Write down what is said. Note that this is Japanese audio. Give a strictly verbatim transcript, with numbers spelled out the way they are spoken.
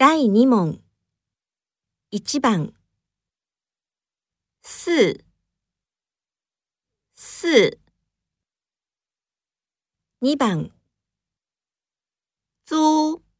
だいに問。いち番。 四、四、 に番。 租、